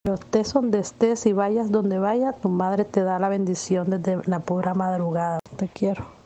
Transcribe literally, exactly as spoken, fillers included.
Pero estés donde estés y vayas donde vayas, tu madre te da la bendición desde la pura madrugada. Te quiero.